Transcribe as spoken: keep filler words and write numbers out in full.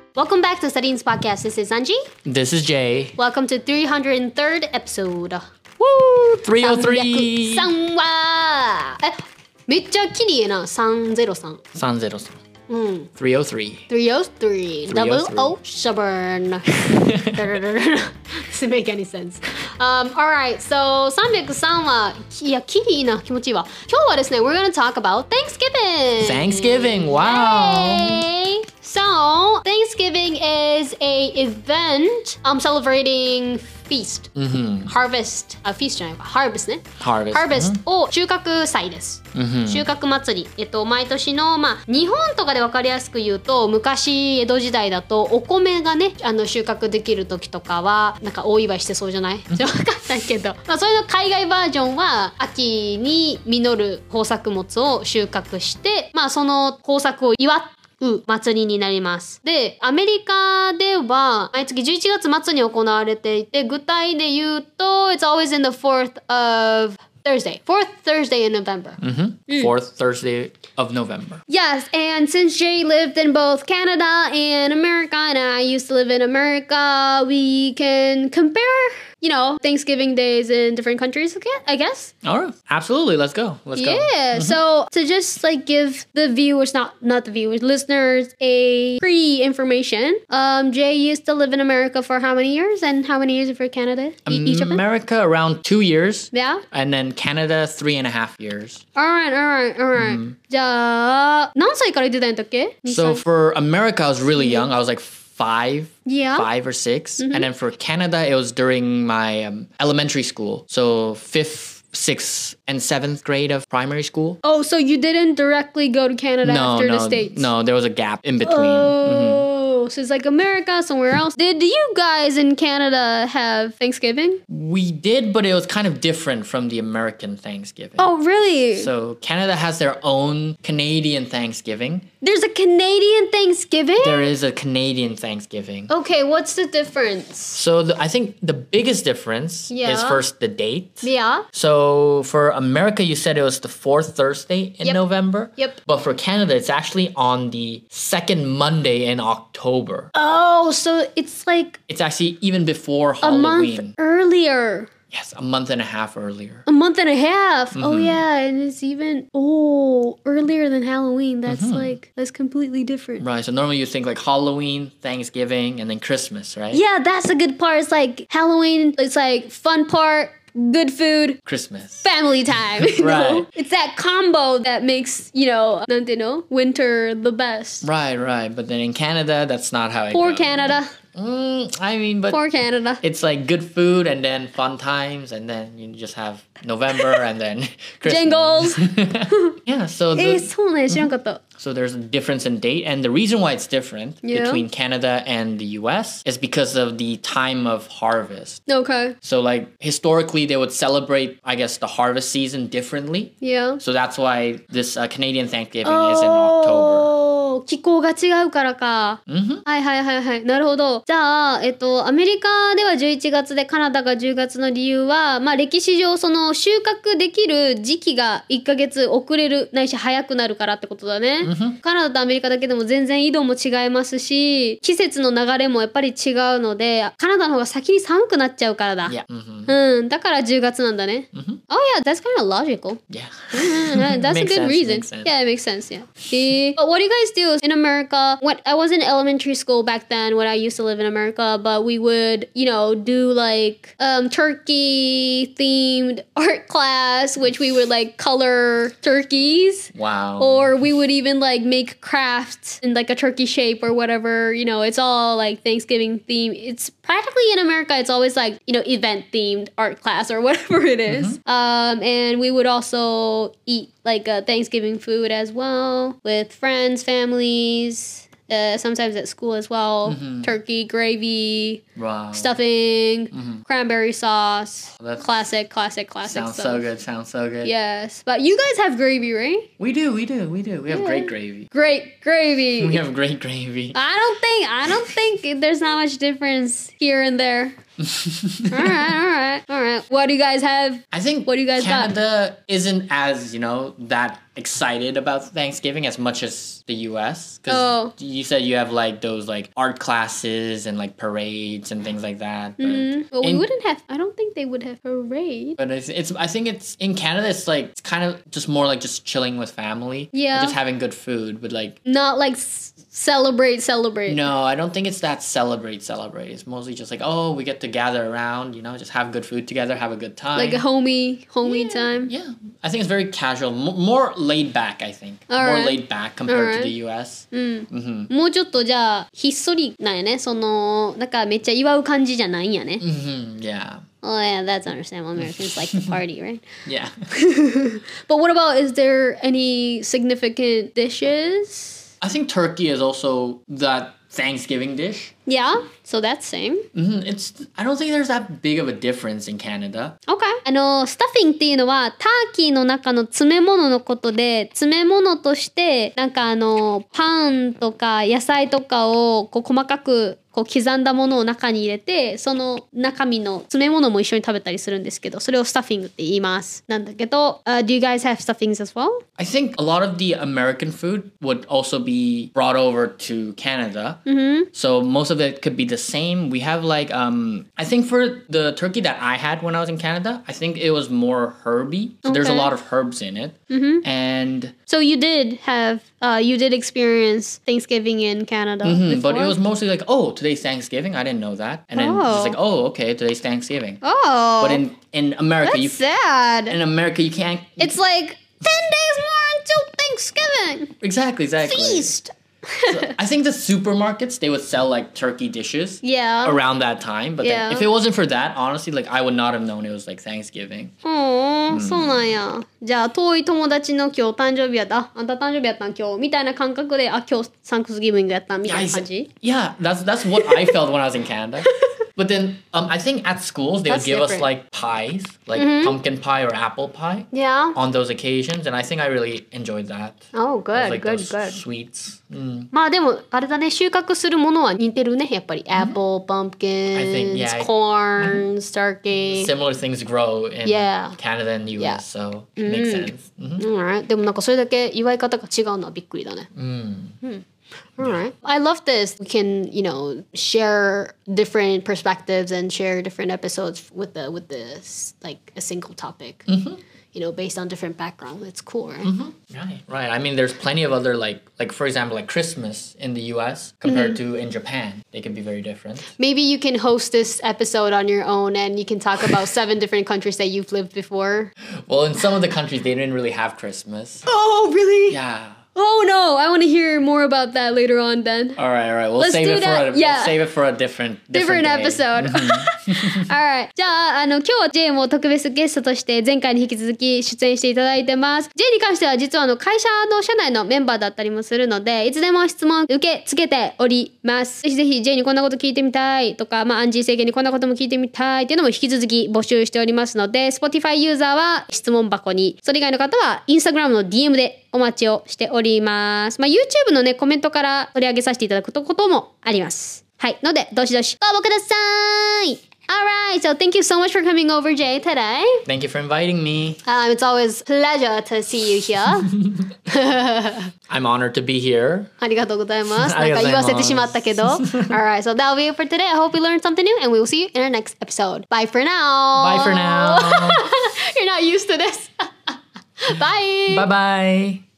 Welcome back to Studying's podcast. This is Anji. This is Jay. Welcome to three hundred third episode. Woo! three oh three! さんはえ、めっちゃ綺麗なさんぜろさん。 さんぜろさん。 うん。 three oh three. three oh three. Double O seven. Doesn't make any sense. Um, alright, soさんびゃくさんは、いや、綺麗な気持ちいいわ。今日はですね、we're gonna talk about Thanksgiving! Thanksgiving! Wow! Yay! So, Thanksgiving is a event um, celebrating feast. Mm-hmm. Harvest. あ、feast じゃないか。harvest ね。 Harvest. harvest を収穫祭です。 Mm-hmm. 収穫祭り。えっと、毎年の、まあ、日本とかで分かりやすく言うと、昔、江戸時代だと、お米がね、あの、収穫できる時とかは、なんかお祝いしてそうじゃない分かんないけど。まあ、それの海外バージョンは、秋に実る豊作物を収穫して、まあ、その豊作を祝って、祭りになります。で、アメリカでは毎月じゅういちがつ末に行われていて、具体で言うと、It's always in the fourth of Thursday. Fourth Thursday in November. Mm-hmm. Fourth Thursday of November. Yes, and since Jay lived in both Canada and America, and I used to live in America, we can compare, you know, Thanksgiving days in different countries, I guess. All right. Absolutely. Let's go. Let's yeah, go. Yeah. Mm-hmm. So to just like give the viewers, not not the viewers, listeners, a pre-information. Um, Jay used to live in America for how many years, and how many years for Canada? E- each of them? America around two years. Yeah. And then Canada three and a half years. All right, all right, all right. Mm-hmm. じゃあ、何歳から行ってたんだっけ? So for America, I was really young. I was like five, yeah. five or six. Mm-hmm. And then for Canada, it was during my um, elementary school. So fifth, sixth, and seventh grade of primary school. Oh, so you didn't directly go to Canada no, after no, the States? No, there was a gap in between. Oh, mm-hmm. So it's like America, somewhere else. Did you guys in Canada have Thanksgiving? We did, but it was kind of different from the American Thanksgiving. Oh, really? So Canada has their own Canadian Thanksgiving. There's a Canadian Thanksgiving? There is a Canadian Thanksgiving. Okay, what's the difference? So the, I think the biggest difference yeah. is first the date. Yeah. So for America, you said it was the fourth Thursday in yep. November. Yep. But for Canada, it's actually on the second Monday in October. Oh, so it's like... It's actually even before A Halloween. month earlier. Yes, a month and a half earlier. A month and a half. Mm-hmm. Oh yeah, and it's even oh earlier than Halloween. That's mm-hmm. like that's completely different. Right. So normally you think like Halloween, Thanksgiving, and then Christmas, right? Yeah, that's the good part. It's like Halloween. It's like fun part. Good food, Christmas, family time. You right. know? It's that combo that makes, you know, you know, winter the best. Right, right. But then in Canada, that's not how it Poor goes. Canada. Mm, I mean, but Poor Canada. It's like good food and then fun times, and then you just have November and then Christmas. Jingles. Yeah, so the, えー、そうね、知らんかった。 So there's a difference in date, and the reason why it's different yeah. between Canada and the U S is because of the time of harvest. Okay. So like historically, they would celebrate, I guess, the harvest season differently. Yeah. So that's why this uh, Canadian Thanksgiving oh, is in October. 気候が違うからか。 Mm-hmm. はいはいはいはい。なるほど。じゃあ、えっと、アメリカではじゅういちがつでカナダがじゅうがつの理由は、まあ歴史上その収穫できる時期がいっかげつ遅れるないし早くなるからってことだね。Mm-hmm. カナダとアメリカだけでも全然緯度も違いますし、季節の流れもやっぱり違うので、カナダの方が先に寒くなっちゃうからだ。 Yeah. Mm-hmm. うん。だからじゅうがつなんだね。 Mm-hmm. Oh yeah, that's kind of logical. Yeah. That's a good sense, reason. Yeah, it makes sense, yeah. See? But what do you guys do in America? When I was in elementary school back then when I used to live in America, but we would, you know, do like um, turkey themed art class, which we would like color turkeys. Wow. Or we would even like make crafts in like a turkey shape or whatever. You know, it's all like Thanksgiving theme. It's practically in America, it's always like, you know, event themed art class or whatever it is. Mm-hmm. Um, and we would also eat like a Thanksgiving food as well with friends, families. Uh, sometimes at school as well. Mm-hmm. Turkey, gravy, wow. stuffing, mm-hmm. cranberry sauce. Well, classic, classic, classic sounds stuff. so good, sounds so good. Yes. But you guys have gravy, right? We do, we do, we do. We have yeah. great gravy. Great gravy. We have great gravy. I don't think, I don't think there's not much difference here and there. all right, all right, all right. What do you guys have? I think What do you guys got? Canada isn't as, you know, that excited about Thanksgiving as much as the U S. Because Oh. you said you have like those like art classes and like parades and things like that. But, Mm, well, we in- wouldn't have. I don't think they would have parade. but it's, it's I think it's in Canada it's like it's kind of just more like just chilling with family. Yeah. And just having good food, but like Not like s- celebrate, celebrate. no, I don't think it's that celebrate celebrate. It's mostly just like, oh, we get to gather around, you know, just have good food together, have a good time. Like a homie, homie Yeah, time. Yeah, I think it's very casual, M- more laid back. I think more Alright. laid back compared Alright. to the U S. うん。もうちょっとじゃあひっそりなんやね。そのなんかめっちゃ祝う感じじゃないんやね。 Hmm Yeah, Oh yeah, that's understandable. Americans like to party, right? yeah. But what about, is there any significant dishes? I think turkey is also that Thanksgiving dish. Yeah, so that's same. Hmm It's I don't think there's that big of a difference in Canada. Okay. あの、スタッフィングっていうのは、ターキーの中の詰め物のことで、詰め物として、なんかあの、パンとか野菜とかをこう細かくこう刻んだものを中に入れて、その中身の詰め物も一緒に食べたりするんですけど、それをスタッフィングって言います。なんだけど、uh, do you guys have stuffings as well? I think a lot of the American food would also be brought over to Canada. So most of it could be the same. We have like um I think for the turkey that I had when I was in Canada, I think it was more herby. So there's a Okay. lot of herbs in it. And So you did have, uh, you did experience Thanksgiving in Canada mhm, but it before? was mostly like, oh, today's Thanksgiving. I didn't know that. And then Oh. just like, oh, okay, today's Thanksgiving. Oh, But in in America, that's you sad. in America you can't It's like ten days more until Thanksgiving. exactly exactly. Feast. So I think the supermarkets they would sell like turkey dishes. Yeah. Around that time, but Yeah. then if it wasn't for that, honestly, like I would not have known it was like Thanksgiving. おー、そうなんや。じゃあ遠い友達の今日誕生日やった。ああんた誕生日やったん今日みたいな感覚で、あ、今日サンクスギビングやったみたいな感じ Yeah, that's that's what I felt when I was in Canada. But then um, I think at schools they That's would give us different. like pies, like pumpkin pie or apple pie Yeah. on those occasions, and I think I really enjoyed that. Oh, good, Like good, those good. sweets. Mm. まあでもあれだね、収穫するものは似てるね、やっぱり。Apple, pumpkins, I think, yeah, I- corns, turkey. Similar things grow in Yeah. Canada and the U S, Yeah. so it makes sense. Mhm. Alright. でもなんかそれだけ祝い方が違うのはびっくりだね。 Mm. Alright. I love this. We can, you know, share different perspectives and share different episodes with the with this like a single topic. You know, based on different background. It's cool, right? Right, right. I mean, there's plenty of other like, like for example, like Christmas in the U S compared to in Japan. They can be very different. Maybe you can host this episode on your own and you can talk about seven different countries that you've lived before. Well, in some of the countries, they didn't really have Christmas. Oh, really? Yeah. Oh no, I want to hear more about that later on then. All right, all right. We'll Let's save do it for that. a Yeah. we'll save it for a different Different day. episode. Alright. じゃあ、あの、今日は J も特別ゲストとして前回に引き続き出演していただいてます。J に関しては実はあの会社の社内のメンバーだったりもするので、いつでも質問受け付けております。ぜひぜひ J にこんなこと聞いてみたいとか、まあ、アンジー政権にこんなことも聞いてみたいっていうのも引き続き募集しておりますので、Spotify ユーザーは質問箱に、それ以外の方は Instagram の ディーエム でお待ちをしております。まあ、YouTube のね、コメントから取り上げさせていただくこともあります。はい。ので、どしどしご応募ください。Alright, so thank you so much for coming over, Jay, today. Thank you for inviting me. Um, it's always a pleasure to see you here. I'm honored to be here. ありがとうございます。 あなんかりがとうございます言わせてしまったけど。Alright, so that'll be it for today. I hope you learned something new and we will see you in our next episode. Bye for now. Bye for now. You're not used to this. Bye. Bye bye.